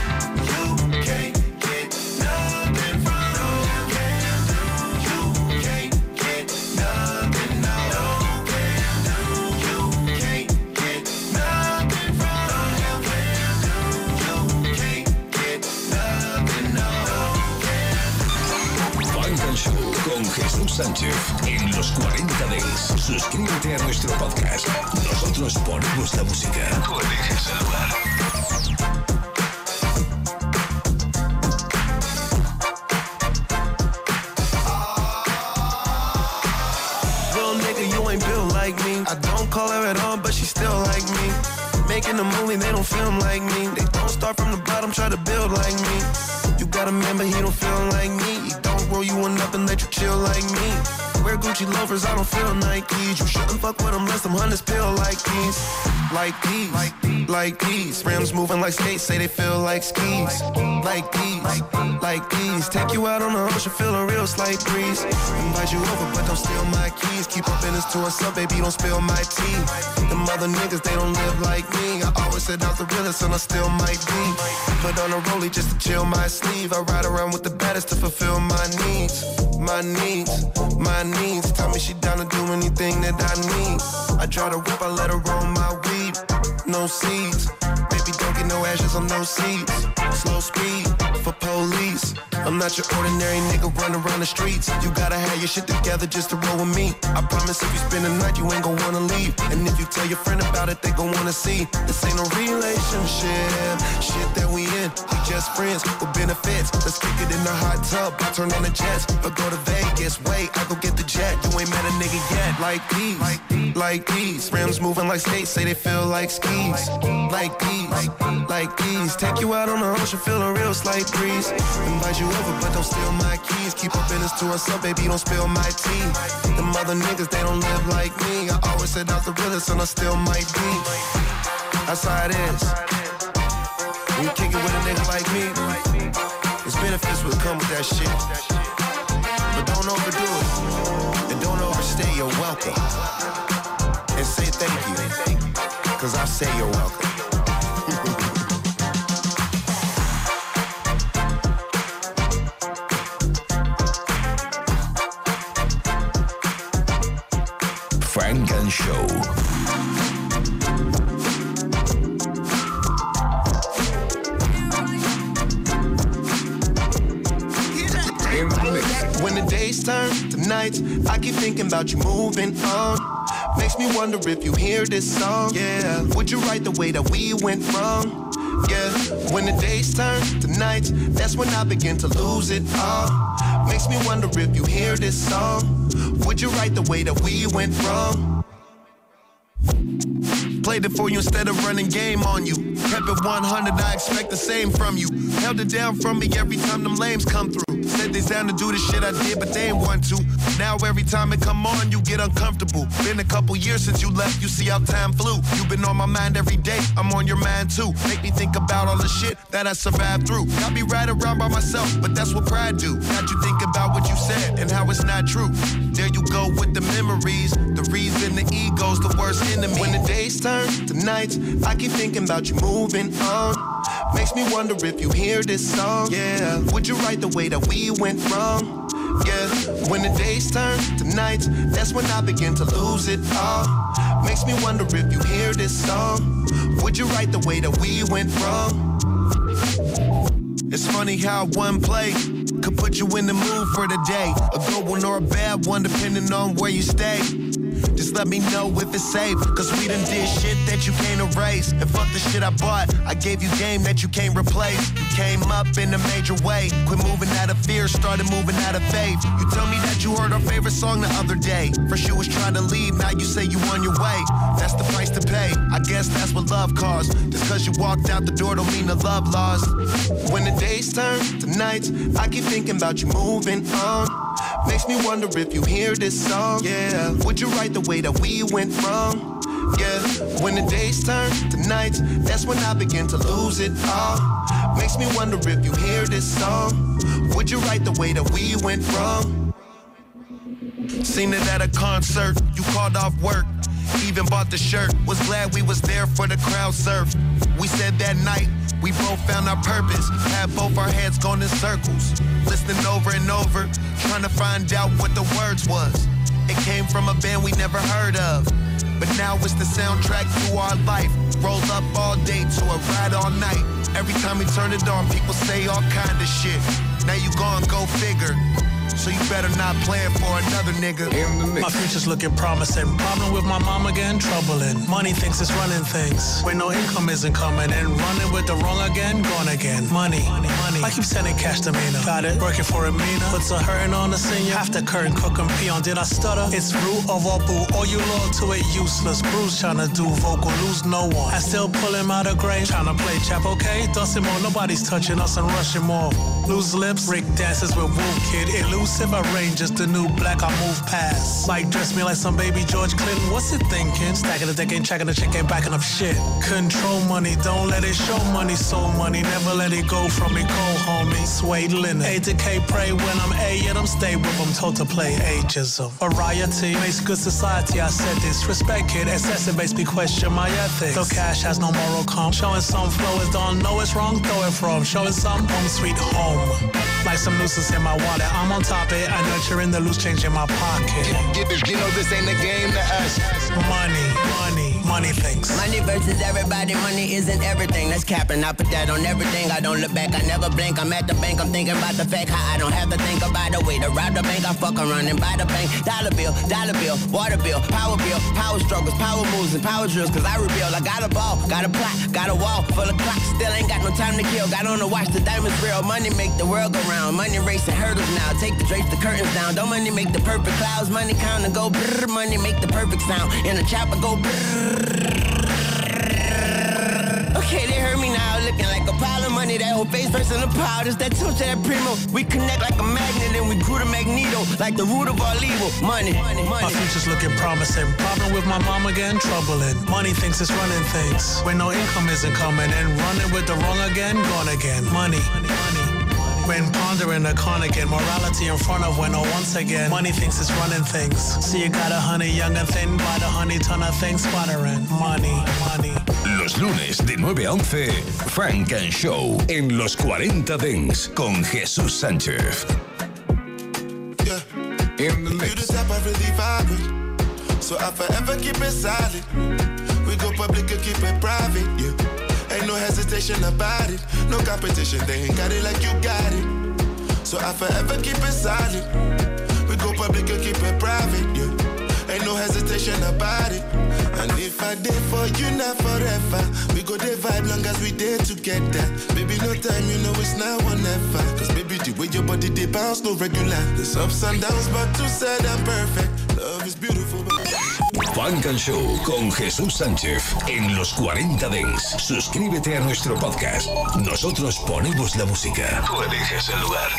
You can't get nothing from no. You can't get nothing, no. You can't get nothing from no. You can't get nothing, no. Funk and Show con Jesús Sánchez en los 40 Dance. Suscríbete a nuestro podcast. Nosotros ponemos la música. Tú eliges el lugar. You ain't built like me. I don't call her at all, but she still like me. Making a movie, they don't film like me. They don't start from the bottom, try to build like me. You gotta remember, he don't feel like me. He don't roll you one up and let you chill like me. Wear Gucci loafers, I don't feel Nikes. You shouldn't fuck with them unless them hunters feel like these. Like these, like these. Rims moving like skates, say they feel like skis. Like these. Take you out on the ocean, feel a real slight breeze. Invite you over, but don't steal my keys. Keep up business to us up, baby, don't spill my tea. Them other niggas, they don't live like me. I always said I was the realest, and I still might be. Put on a rollie just to chill my sleeve. I ride around with the baddest to fulfill my needs. My needs, my needs. Tell me she down to do anything that I need. I try to whip, I let her roll my weed. No seeds, baby, don't get no ashes on no seeds. Slow speed for police. I'm not your ordinary nigga running around the streets. You gotta have your shit together just to roll with me. I promise if you spend the night, you ain't gon' wanna leave. And if you tell your friend about it, they gon' wanna see. This ain't no relationship, shit that we in. We just friends with benefits. Let's kick it in the hot tub, I turn on the jets. Or go to Vegas, wait, I go get the jet. You ain't met a nigga yet. Like these. Rims moving like skates, say they feel like skis. Like these. Take you out on the ocean, feel a real slight breeze. Invite you over, but don't steal my keys. Keep our business to ourselves, baby, don't spill my tea. Them other niggas, they don't live like me. I always said I was the realest, and I still might be. That's how it is. When you kick it with a nigga like me, there's benefits will come with that shit. But don't overdo it, and don't overstay your welcome. And say thank you, cause I say you're welcome. Frank and Show. When the days turn to nights, I keep thinking about you moving on. Makes me wonder if you hear this song. Yeah, would you write the way that we went wrong? Yeah, when the days turn to nights, that's when I begin to lose it all. Makes me wonder if you hear this song. Would you write the way that we went wrong? Played it for you instead of running game on you. Kept it 100, I expect the same from you. Held it down from me every time them lames come through. Said they down to do the shit I did, but they ain't want to. Now every time it come on, you get uncomfortable. Been a couple years since you left, you see how time flew. You been on my mind every day, I'm on your mind too. Make me think about all the shit that I survived through. Got me right around by myself, but that's what pride do. Got you think about what you said and how it's not true. There you go with the memories. The reason the ego's the worst enemy. When the days turn to nights, I keep thinking about you moving on. Makes me wonder if you hear this song. Yeah, would you write the way that we went wrong? Yeah, when the days turn to nights, that's when I begin to lose it all. Makes me wonder if you hear this song. Would you write the way that we went wrong? It's funny how one play could put you in the mood for the day. A good one or a bad one, depending on where you stay. Just let me know if it's safe, cause we done did shit that you can't erase. And fuck the shit I bought, I gave you game that you can't replace. You came up in a major way, quit moving out of fear, started moving out of faith. You tell me that you heard our favorite song the other day. First you was trying to leave, now you say you on your way. That's the price to pay, I guess that's what love costs. Just cause you walked out the door don't mean the love lost. When the days turn to nights, I keep thinking about you moving on. Makes me wonder if you hear this song. Yeah, would you write the way that we went wrong? Yeah, when the days turn to nights, that's when I begin to lose it all. Makes me wonder if you hear this song. Would you write the way that we went wrong? Seen it at a concert, you called off work. Even bought the shirt, was glad we was there for the crowd surf. We said that night, we both found our purpose. Had both our heads going in circles. Listening over and over, trying to find out what the words was. It came from a band we never heard of. But now it's the soundtrack to our life. Rolled up all day to a ride all night. Every time we turn it on, people say all kind of shit. Now you gone, go figure. So you better not plan for another nigga. My future's looking promising. Problem with my mom again, troubling. Money thinks it's running things when no income isn't coming in. Running with the wrong again, gone again. Money. I keep sending cash to Mina. Got it, working for a Mina. Puts a hurting on the senior. After curtain, cook and peon. Did I stutter? It's root of all boo. All you loyal to it, useless. Bruce trying to do vocal, lose no one. I still pull him out of grave. Trying to play chap, okay? Dustin more, nobody's touching us and rushing more. Loose lips, Rick dances with Wolf Kid. Elusive, I range, just the new black I move past. Like dress me like some baby George Clinton, what's it thinking? Stacking the deck, ain't checking the chick, ain't backing up shit. Control money, don't let it show money, soul money. Never let it go from me, cold homie. Suede linen, A to K, pray when I'm A, yet I'm stay with them, told to play ageism. Variety makes good society, I said this. Respect it, exacerbates me, question my ethics. Though cash has no moral calm, showing some flow is don't know it's wrong, throw it from. Showing some home sweet home. Like some nooses in my wallet, I'm on top of it. I nurture in the loose change in my pocket. You know this ain't a game to us. Money. money thinks. Money versus everybody, money isn't everything. That's capping, I put that on everything. I don't look back, I never blink. I'm at the bank, I'm thinking about the fact how I don't have to think about a way to rob the bank. I fuck around and buy the bank. Dollar bill, water bill, power struggles, power moves and power drills. Cause I rebuild, I got a ball, got a plot, got a wall full of clocks. Still ain't got no time to kill. Got on the watch, the diamonds real. Money make the world go round. Money racing hurdles now. Take the drapes, the curtains down. Don't money make the perfect clouds. Money count and go brrr. Money make the perfect sound. In the chopper go brrr. Okay, they heard me now, looking like a pile of money. That whole face first in the pile, it's that touch, that primo. We connect like a magnet and we grew the magneto, like the root of all evil. Money. My future's looking promising. Problem with my mom again, troubling. Money thinks it's running things. When no income isn't coming in, running with the wrong again, gone again. Money. When pondering a con again, morality in front of when once again, money thinks it's running things. See you got a honey young and thin, by the honey ton of things sputtering. Money. Los lunes de 9 a 11, Funk and Show en Los 40 Dents con Jesús Sánchez. Yeah. In the mix. You the type I really vibe with, so I forever keep it solid. We go public and keep it private, yeah. Ain't no hesitation about it, no competition, they ain't got it like you got it. So I forever keep it solid. We go public and keep it private, yeah. Ain't no hesitation about it. And if I did for you, not forever. We go there vibe long as we there together. Baby, no time, you know it's now or never. Cause baby, the way your body they bounce, no regular. There's ups and downs, but two said I'm perfect. Love is beautiful, but... Funk and Show con Jesús Sánchez en Los 40 Dents. Suscríbete a nuestro podcast. Nosotros ponemos la música. Tú eliges el lugar.